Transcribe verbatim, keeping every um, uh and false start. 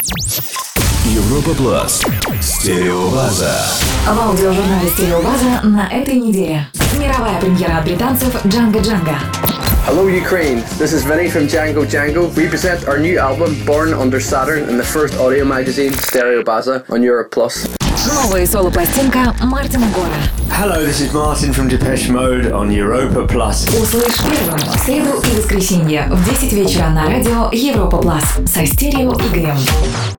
Европа Плас. Стереобаза. В аудиожурнале «Стереобаза» на этой неделе. Мировая премьера от британцев Django Django. Hello Ukraine, this is Vinny from Django Django. We present our new album Born Under Saturn in the first audio magazine Stereobaza on Europe Plus. Новая соло-пластинка Мартина Гора. Hello, this is Martin from Depeche Mode on Europa Plus. Услышь первым в среду и воскресенье в десять вечера на радио Европа Плас со Стерео Игорем.